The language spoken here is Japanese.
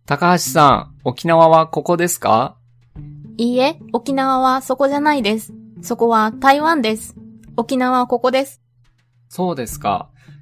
高橋さん、沖縄はここですか？ いいえ、沖縄はそこじゃないです。そこは台湾です。沖縄はここです。 そうですか。